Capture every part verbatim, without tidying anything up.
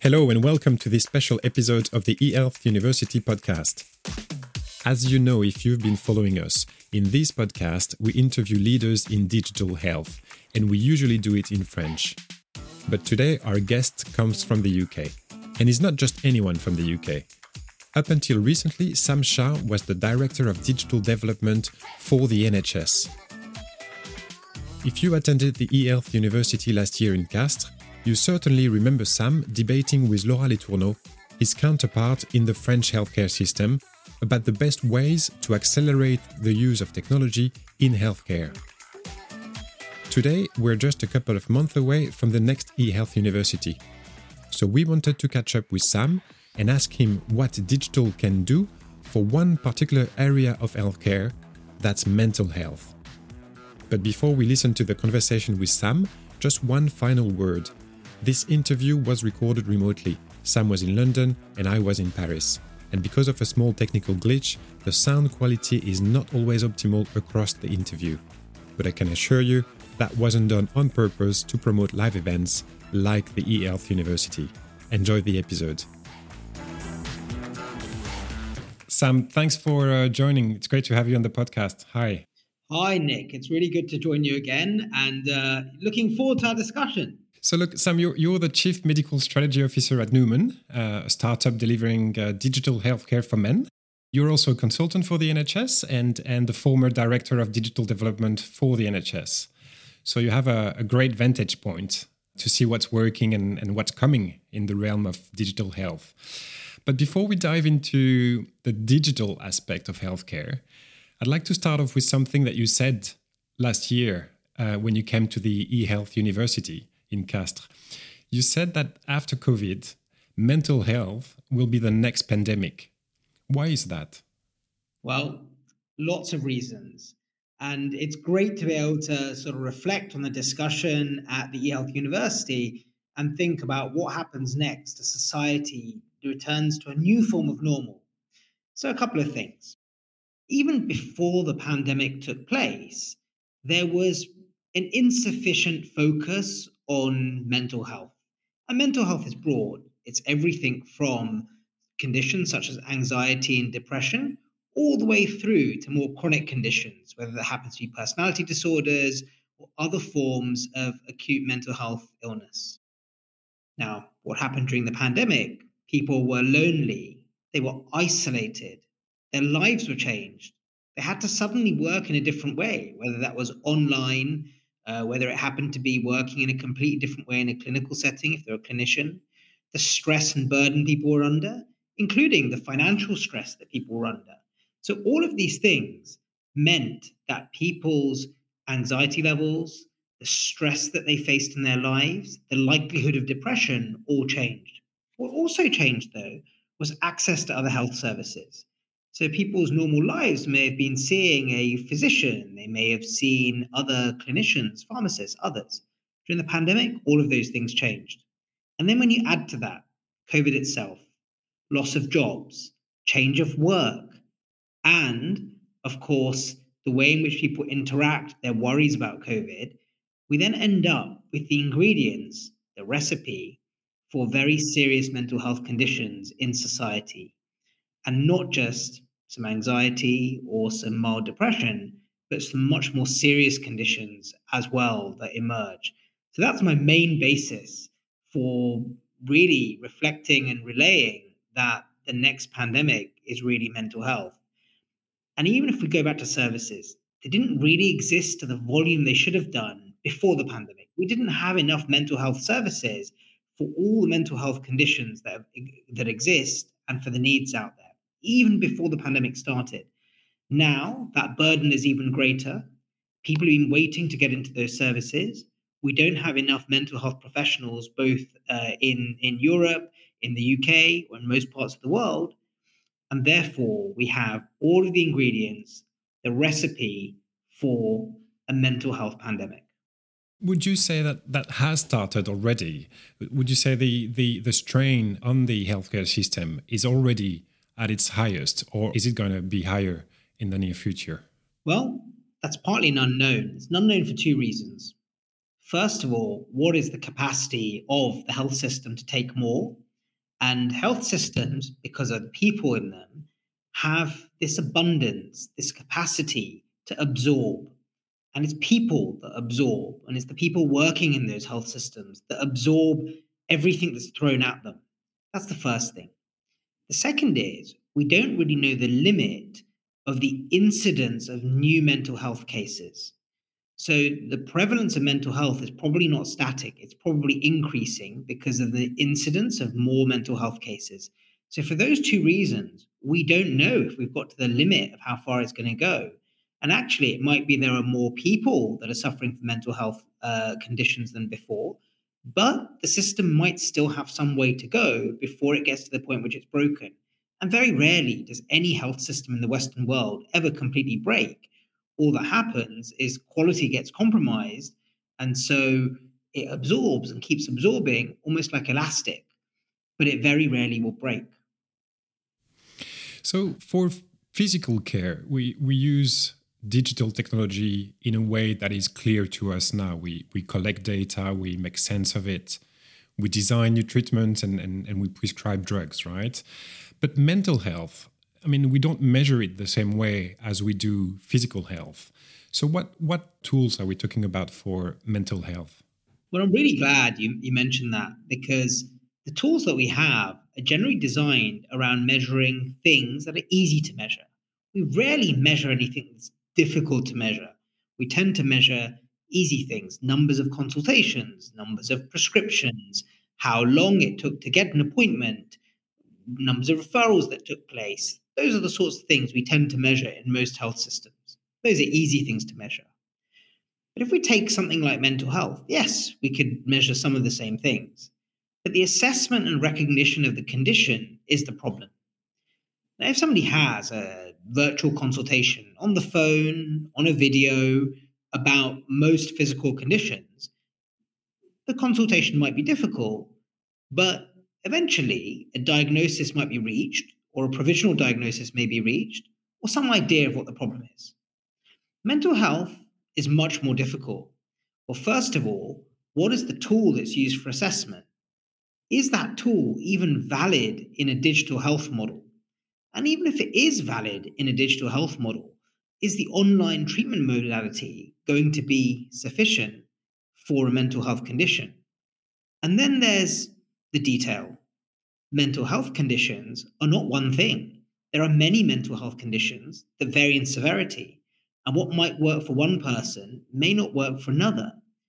Hello and welcome to this special episode of the eHealth University podcast. As you know, if you've been following us, in this podcast we interview leaders in digital health, and we usually do it in French. But today our guest comes from the U K, and is not just anyone from the U K. Up until recently, Sam Shah was the Director of Digital Development for the N H S. If you attended the eHealth University last year in Castres, you certainly remember Sam debating with Laura Letourneau, his counterpart in the French healthcare system, about the best ways to accelerate the use of technology in healthcare. Today, we're just a couple of months away from the next eHealth University. So we wanted to catch up with Sam and ask him what digital can do for one particular area of healthcare, that's mental health. But before we listen to the conversation with Sam, just one final word. This interview was recorded remotely. Sam was in London and I was in Paris. And because of a small technical glitch, the sound quality is not always optimal across the interview. But I can assure you, that wasn't done on purpose to promote live events like the eHealth University. Enjoy the episode. Sam, thanks for uh, joining. It's great to have you on the podcast. Hi. Hi, Nick. It's really good to join you again and uh, looking forward to our discussion. So look, Sam, you're, you're the Chief Medical Strategy Officer at Numan, uh, a startup delivering uh, digital healthcare for men. You're also a consultant for the N H S and, and the former Director of Digital Development for the N H S. So you have a, a great vantage point to see what's working and, and what's coming in the realm of digital health. But before we dive into the digital aspect of healthcare, I'd like to start off with something that you said last year uh, when you came to the eHealth University in Castres. You said that after COVID, mental health will be the next pandemic. Why is that? Well, lots of reasons. And it's great to be able to sort of reflect on the discussion at the eHealth University and think about what happens next as society returns to a new form of normal. So a couple of things. Even before the pandemic took place, there was an insufficient focus on mental health. And mental health is broad. It's everything from conditions such as anxiety and depression, all the way through to more chronic conditions, whether that happens to be personality disorders or other forms of acute mental health illness. Now, what happened during the pandemic? People were lonely. They were isolated. Their lives were changed. They had to suddenly work in a different way, whether that was online, uh, whether it happened to be working in a completely different way in a clinical setting, if they're a clinician, the stress and burden people were under, including the financial stress that people were under. So all of these things meant that people's anxiety levels, the stress that they faced in their lives, the likelihood of depression all changed. What also changed, though, was access to other health services. So people's normal lives may have been seeing a physician, they may have seen other clinicians, pharmacists, others. During the pandemic, all of those things changed. And then when you add to that COVID itself, loss of jobs, change of work, and of course, the way in which people interact, their worries about COVID, we then end up with the ingredients, the recipe for very serious mental health conditions in society. And not just some anxiety or some mild depression, but some much more serious conditions as well that emerge. So that's my main basis for really reflecting and relaying that the next pandemic is really mental health. And even if we go back to services, they didn't really exist to the volume they should have done before the pandemic. We didn't have enough mental health services for all the mental health conditions that, that exist and for the needs out there, even before the pandemic started. Now, that burden is even greater. People have been waiting to get into those services. We don't have enough mental health professionals, both uh, in, in Europe, in the U K, or in most parts of the world. And therefore, we have all of the ingredients, the recipe for a mental health pandemic. Would you say that that has started already? Would you say the, the, the strain on the healthcare system is already at its highest, or is it going to be higher in the near future? Well, that's partly an unknown. It's an unknown for two reasons. First of all, what is the capacity of the health system to take more? And health systems, because of the people in them, have this abundance, this capacity to absorb. And it's people that absorb, and it's the people working in those health systems that absorb everything that's thrown at them. That's the first thing. The second is we don't really know the limit of the incidence of new mental health cases. So the prevalence of mental health is probably not static. It's probably increasing because of the incidence of more mental health cases. So for those two reasons, we don't know if we've got to the limit of how far it's going to go. And actually, it might be there are more people that are suffering from mental health uh, conditions than before, but the system might still have some way to go before it gets to the point which it's broken. And very rarely does any health system in the Western world ever completely break. All that happens is quality gets compromised, and so it absorbs and keeps absorbing almost like elastic, but it very rarely will break. So for physical care, we, we use digital technology in a way that is clear to us now. We, we collect data, we make sense of it, we design new treatments, and, and, and we prescribe drugs, right? But mental health, I mean, we don't measure it the same way as we do physical health. So what, what tools are we talking about for mental health? Well, I'm really glad you, you mentioned that, because the tools that we have are generally designed around measuring things that are easy to measure. We rarely measure anything that's difficult to measure. We tend to measure easy things, numbers of consultations, numbers of prescriptions, how long it took to get an appointment, numbers of referrals that took place. Those are the sorts of things we tend to measure in most health systems. Those are easy things to measure. But if we take something like mental health, yes, we could measure some of the same things. But the assessment and recognition of the condition is the problem. Now, if somebody has a virtual consultation on the phone, on a video about most physical conditions, the consultation might be difficult, but eventually a diagnosis might be reached, or a provisional diagnosis may be reached, or some idea of what the problem is. Mental health is much more difficult. Well, first of all, what is the tool that's used for assessment? Is that tool even valid in a digital health model? And even if it is valid in a digital health model, is the online treatment modality going to be sufficient for a mental health condition? And then there's the detail. Mental health conditions are not one thing. There are many mental health conditions that vary in severity, and what might work for one person may not work for another.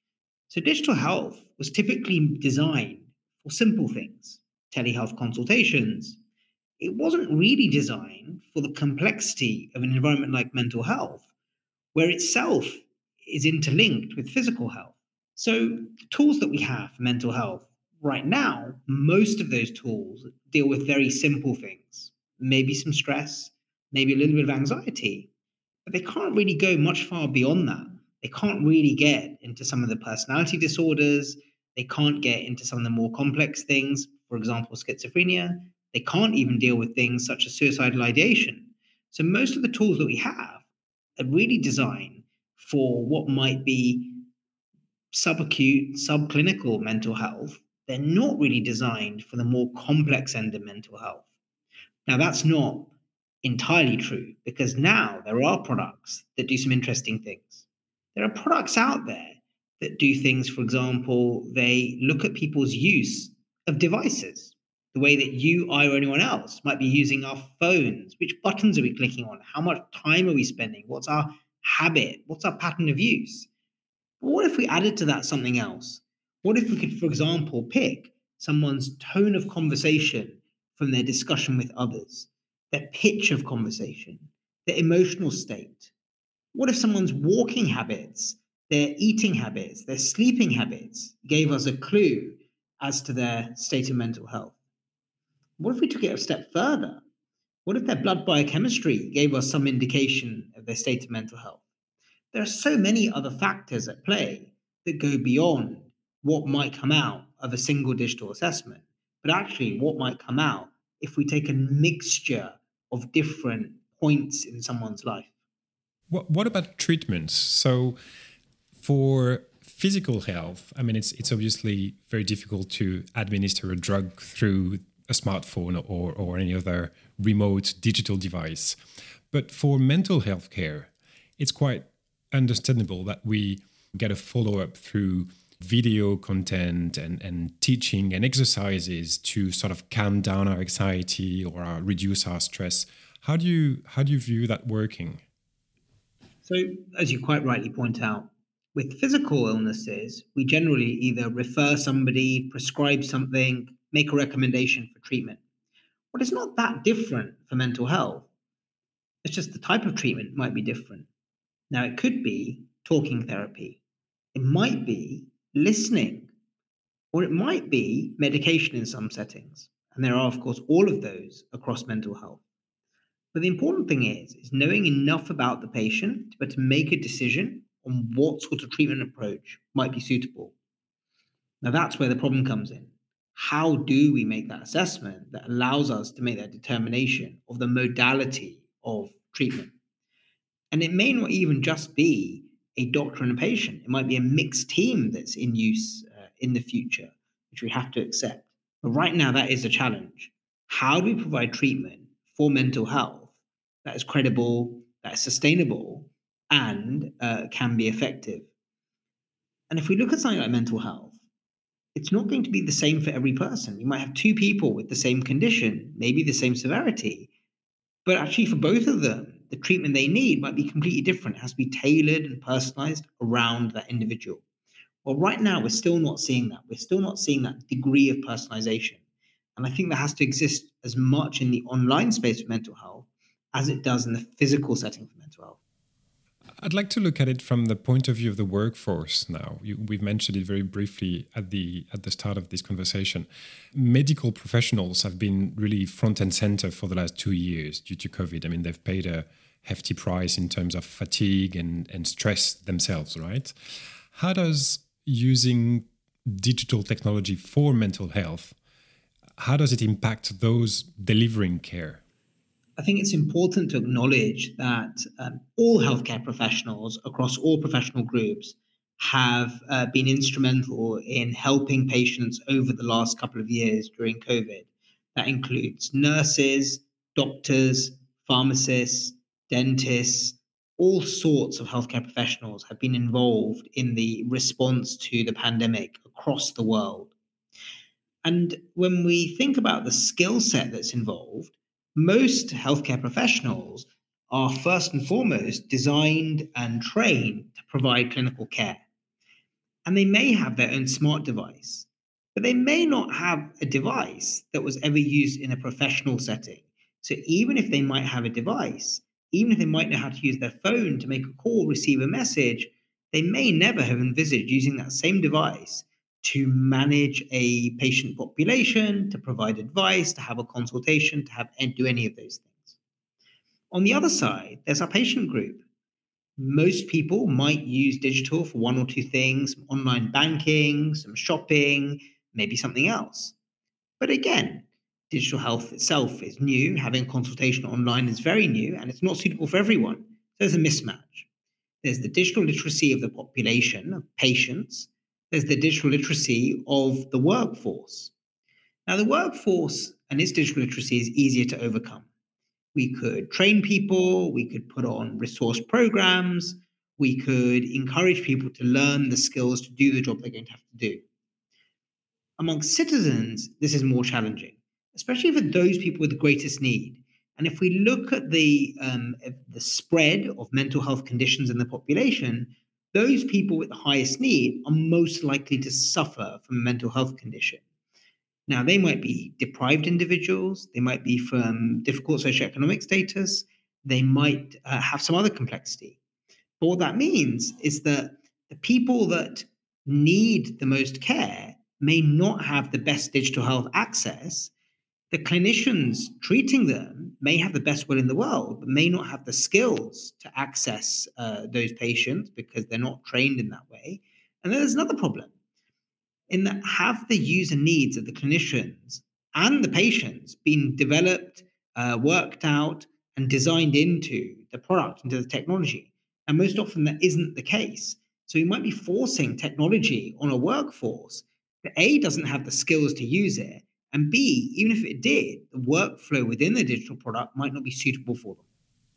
So digital health was typically designed for simple things, telehealth consultations. It wasn't really designed for the complexity of an environment like mental health, where itself is interlinked with physical health. So the tools that we have for mental health right now, most of those tools deal with very simple things, maybe some stress, maybe a little bit of anxiety, but they can't really go much far beyond that. They can't really get into some of the personality disorders. They can't get into some of the more complex things, for example, schizophrenia. They can't even deal with things such as suicidal ideation. So most of the tools that we have are really designed for what might be subacute, subclinical mental health. They're not really designed for the more complex end of mental health. Now, that's not entirely true, because now there are products that do some interesting things. There are products out there that do things, for example, they look at people's use of devices, the way that you, I, or anyone else might be using our phones. Which buttons are we clicking on? How much time are we spending? What's our habit? What's our pattern of use? But what if we added to that something else? What if we could, for example, pick someone's tone of conversation from their discussion with others, their pitch of conversation, their emotional state? What if someone's walking habits, their eating habits, their sleeping habits gave us a clue as to their state of mental health? What if we took it a step further? What if their blood biochemistry gave us some indication of their state of mental health? There are so many other factors at play that go beyond what might come out of a single digital assessment, but actually what might come out if we take a mixture of different points in someone's life. What, what about treatments? So for physical health, I mean, it's it's obviously very difficult to administer a drug through a smartphone or, or any other remote digital device. But for mental health care, it's quite understandable that we get a follow-up through video content and, and teaching and exercises to sort of calm down our anxiety or our, reduce our stress. How do you how do you view that working? So, as you quite rightly point out, with physical illnesses, we generally either refer somebody, prescribe something, make a recommendation for treatment. But it's not that different for mental health. It's just the type of treatment might be different. Now, it could be talking therapy, it might be listening, or it might be medication in some settings. And there are, of course, all of those across mental health. But the important thing is, is knowing enough about the patient to be able to make a decision on what sort of treatment approach might be suitable. Now, that's where the problem comes in. How do we make that assessment that allows us to make that determination of the modality of treatment? And it may not even just be a doctor and a patient. It might be a mixed team that's in use uh, in the future, which we have to accept. But right now, that is a challenge. How do we provide treatment for mental health that is credible, that is sustainable, and uh, can be effective? And if we look at something like mental health, it's not going to be the same for every person. You might have two people with the same condition, maybe the same severity, but actually for both of them, the treatment they need might be completely different. It has to be tailored and personalized around that individual. Well, right now, we're still not seeing that. We're still not seeing that degree of personalization. And I think that has to exist as much in the online space for mental health as it does in the physical setting for mental health. I'd like to look at it from the point of view of the workforce now. You, we've mentioned it very briefly at the at the start of this conversation. Medical professionals have been really front and center for the last two years due to COVID. I mean, they've paid a hefty price in terms of fatigue and, and stress themselves, right? How does using digital technology for mental health, how does it impact those delivering care? I think it's important to acknowledge that um, all healthcare professionals across all professional groups have uh, been instrumental in helping patients over the last couple of years during COVID. That includes nurses, doctors, pharmacists, dentists, all sorts of healthcare professionals have been involved in the response to the pandemic across the world. And when we think about the skill set that's involved, most healthcare professionals are first and foremost designed and trained to provide clinical care. And they may have their own smart device, but they may not have a device that was ever used in a professional setting. So even if they might have a device, even if they might know how to use their phone to make a call, receive a message, they may never have envisaged using that same device to manage a patient population, to provide advice, to have a consultation, to have and do any of those things. On the other side, there's our patient group. Most people might use digital for one or two things, some online banking, some shopping, maybe something else. But again, digital health itself is new. Having a consultation online is very new, and it's not suitable for everyone. So there's a mismatch. There's the digital literacy of the population, of patients. There's the digital literacy of the workforce. Now, the workforce and its digital literacy is easier to overcome. We could train people, we could put on resource programs, we could encourage people to learn the skills to do the job they're going to have to do. Among citizens, this is more challenging, especially for those people with the greatest need. And if we look at the, um, the spread of mental health conditions in the population, those people with the highest need are most likely to suffer from a mental health condition. Now, they might be deprived individuals, they might be from difficult socioeconomic status, they might uh, have some other complexity. But what that means is that the people that need the most care may not have the best digital health access. The clinicians treating them may have the best will in the world, but may not have the skills to access uh, those patients because they're not trained in that way. And then there's another problem in that have the user needs of the clinicians and the patients been developed, uh, worked out, and designed into the product, into the technology? And most often that isn't the case. So you might be forcing technology on a workforce that A, doesn't have the skills to use it, And B, even if it did, the workflow within the digital product might not be suitable for them.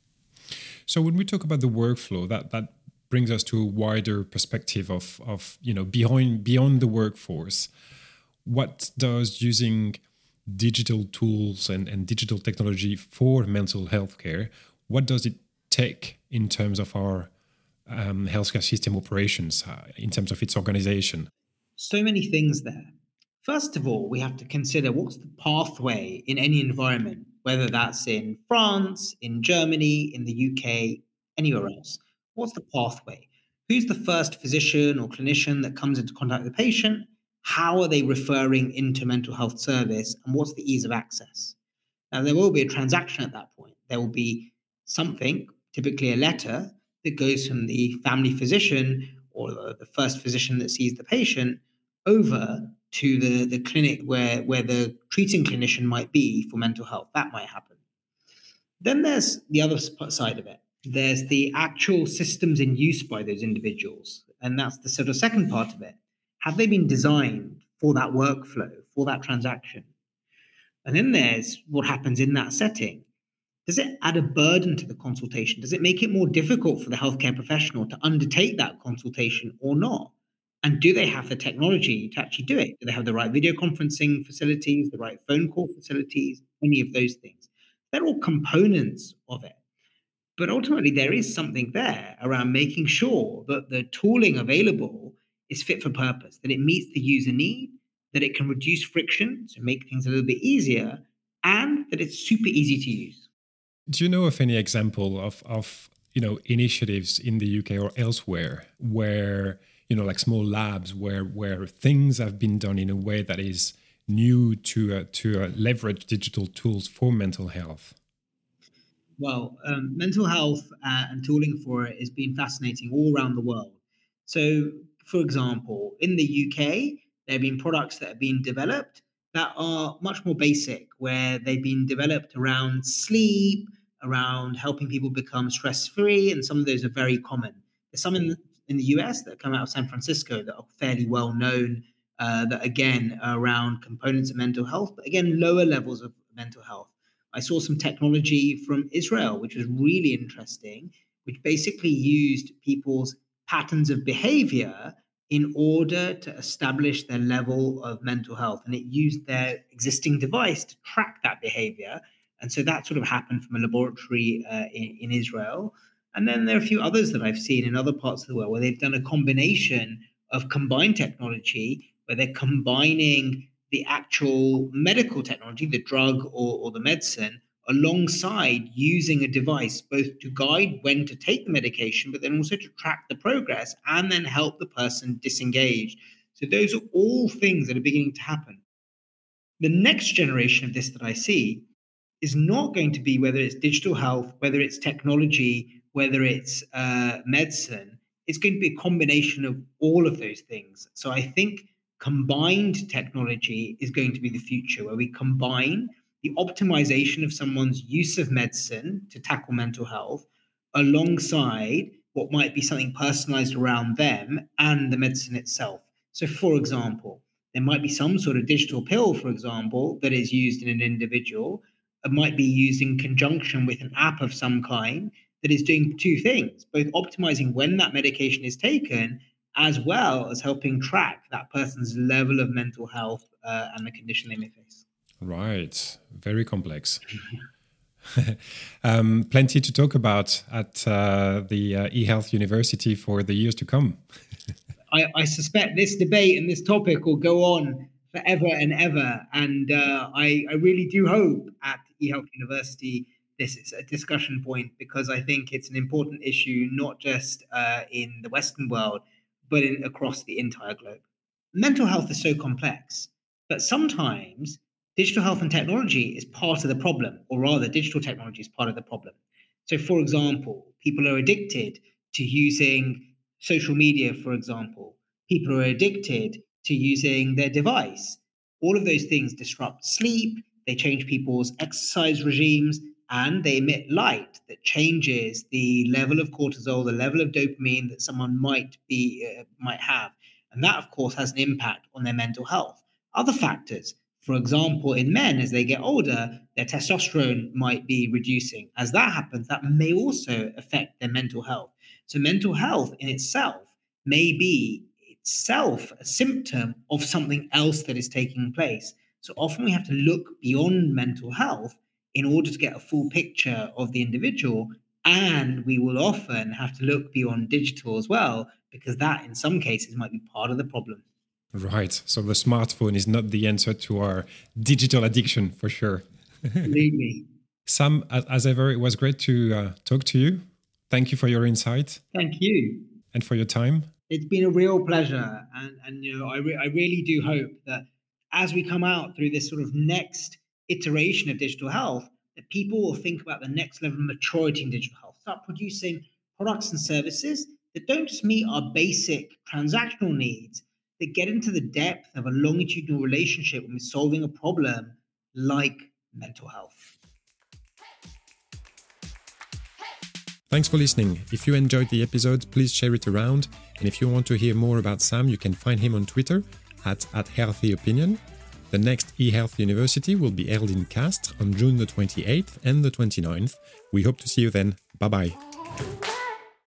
So when we talk about the workflow, that that brings us to a wider perspective of of you know beyond beyond the workforce. What does using digital tools and, and digital technology for mental health care, what does it take in terms of our um, healthcare system operations, uh, in terms of its organization? So many things there. First of all, we have to consider what's the pathway in any environment, whether that's in France, in Germany, in the U K, anywhere else. What's the pathway? Who's the first physician or clinician that comes into contact with the patient? How are they referring into mental health service? And what's the ease of access? Now, there will be a transaction at that point. There will be something, typically a letter, that goes from the family physician or the first physician that sees the patient over to the, the clinic where, where the treating clinician might be for mental health. That might happen. Then there's the other side of it. There's the actual systems in use by those individuals. And that's the sort of second part of it. Have they been designed for that workflow, for that transaction? And then there's what happens in that setting. Does it add a burden to the consultation? Does it make it more difficult for the healthcare professional to undertake that consultation or not? And do they have the technology to actually do it? Do they have the right video conferencing facilities, the right phone call facilities, any of those things? They're all components of it. But ultimately, there is something there around making sure that the tooling available is fit for purpose, that it meets the user need, that it can reduce friction, so make things a little bit easier, and that it's super easy to use. Do you know of any example of, of you know initiatives in the U K or elsewhere where you know like small labs where where things have been done in a way that is new to uh, to uh, leverage digital tools for mental health? Well, um, mental health uh, and tooling for it has been fascinating all around the world. So, for example, in the U K, there have been products that have been developed that are much more basic, where they've been developed around sleep, around helping people become stress free, and some of those are very common. There's some in, in the U S that come out of San Francisco that are fairly well known, uh, that again are around components of mental health, but again, lower levels of mental health. I saw some technology from Israel, which was really interesting, which basically used people's patterns of behavior in order to establish their level of mental health. And it used their existing device to track that behavior. And so that sort of happened from a laboratory uh, in, in Israel. And then there are a few others that I've seen in other parts of the world where they've done a combination of combined technology, where they're combining the actual medical technology, the drug or, or the medicine, alongside using a device both to guide when to take the medication, but then also to track the progress and then help the person disengage. So those are all things that are beginning to happen. The next generation of this that I see is not going to be whether it's digital health, whether it's technology, whether it's uh, medicine. It's going to be a combination of all of those things. So I think combined technology is going to be the future, where we combine the optimization of someone's use of medicine to tackle mental health alongside what might be something personalized around them and the medicine itself. So, for example, there might be some sort of digital pill, for example, that is used in an individual. It might be used in conjunction with an app of some kind that is doing two things, both optimizing when that medication is taken, as well as helping track that person's level of mental health uh, and the condition they may face. Right. Very complex. um, plenty to talk about at uh, the uh, eHealth University for the years to come. I, I suspect this debate and this topic will go on forever and ever. And uh, I, I really do hope at eHealth University this is a discussion point, because I think it's an important issue, not just uh, in the Western world, but in, across the entire globe. Mental health is so complex, but sometimes digital health and technology is part of the problem, or rather, digital technology is part of the problem. So, for example, people are addicted to using social media, for example. People are addicted to using their device. All of those things disrupt sleep, they change people's exercise regimes, and they emit light that changes the level of cortisol, the level of dopamine that someone might be uh, might have. And that, of course, has an impact on their mental health. Other factors, For example, in men, as they get older, their testosterone might be reducing. As that happens, that may also affect their mental health. So mental health in itself may be itself a symptom of something else that is taking place. So often we have to look beyond mental health in order to get a full picture of the individual. And we will often have to look beyond digital as well, because that in some cases might be part of the problem. Right. So the smartphone is not the answer to our digital addiction, for sure. Absolutely. Sam, as ever, it was great to uh, talk to you. Thank you for your insight. Thank you. And for your time. It's been a real pleasure. And, and you know, I, re- I really do hope that as we come out through this sort of next iteration of digital health, that people will think about the next level of maturity in digital health, start producing products and services that don't just meet our basic transactional needs, that get into the depth of a longitudinal relationship when we're solving a problem like mental health. Thanks for listening. If you enjoyed the episode, please share it around. And if you want to hear more about Sam, you can find him on Twitter at, at Healthy Opinion. The next eHealth University will be held in Castres on June the twenty-eighth and the twenty-ninth. We hope to see you then. Bye-bye.